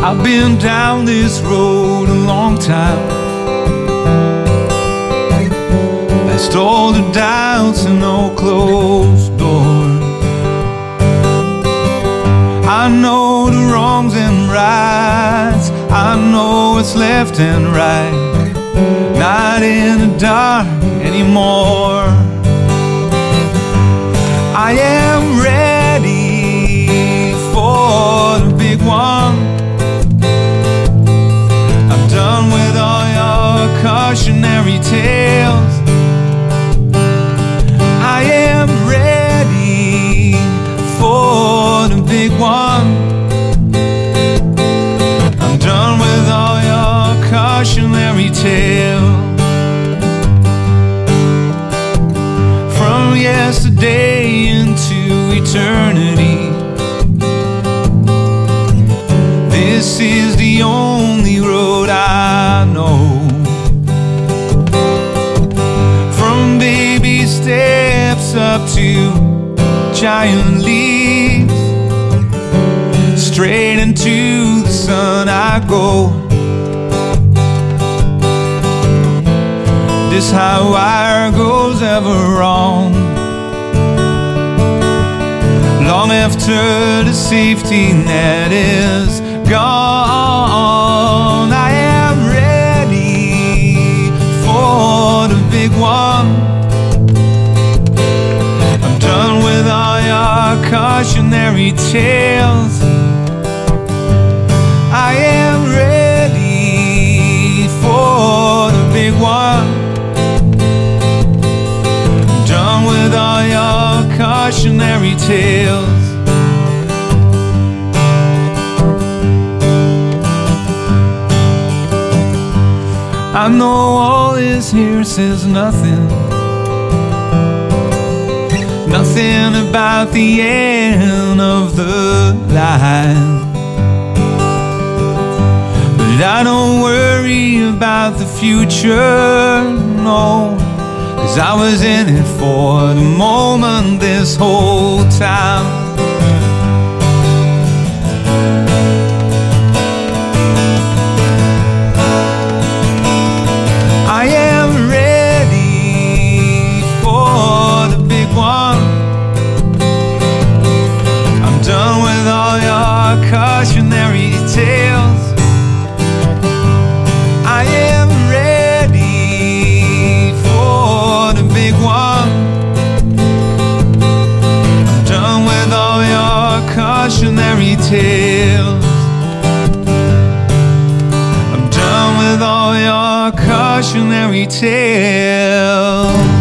I've been down this road a long time, past all the doubts and all closed doors. I know the wrongs and rights, I know what's left and right, not in the dark anymore. I am ready for the big one. I'm done with all your cautionary tales. I am ready for the big one. I'm done with all your cautionary tales. From yesterday into eternity, this is the only road I know. From baby steps up to giant leaps, straight into the sun I go. This high wire goes ever wrong, long after the safety net is gone. I am ready for the big one. I'm done with all your cautionary tales. I am ready for the big one. I'm done with all your cautionary tales. I know all this here says nothing, nothing about the end of the line. But I don't worry about the future, no, 'cause I was in it for the moment this whole time. I am ready for the big one. I'm done with all your cautionary tales. I am ready for the big one. I'm done with all your cautionary tales. I'm done with all your cautionary tales.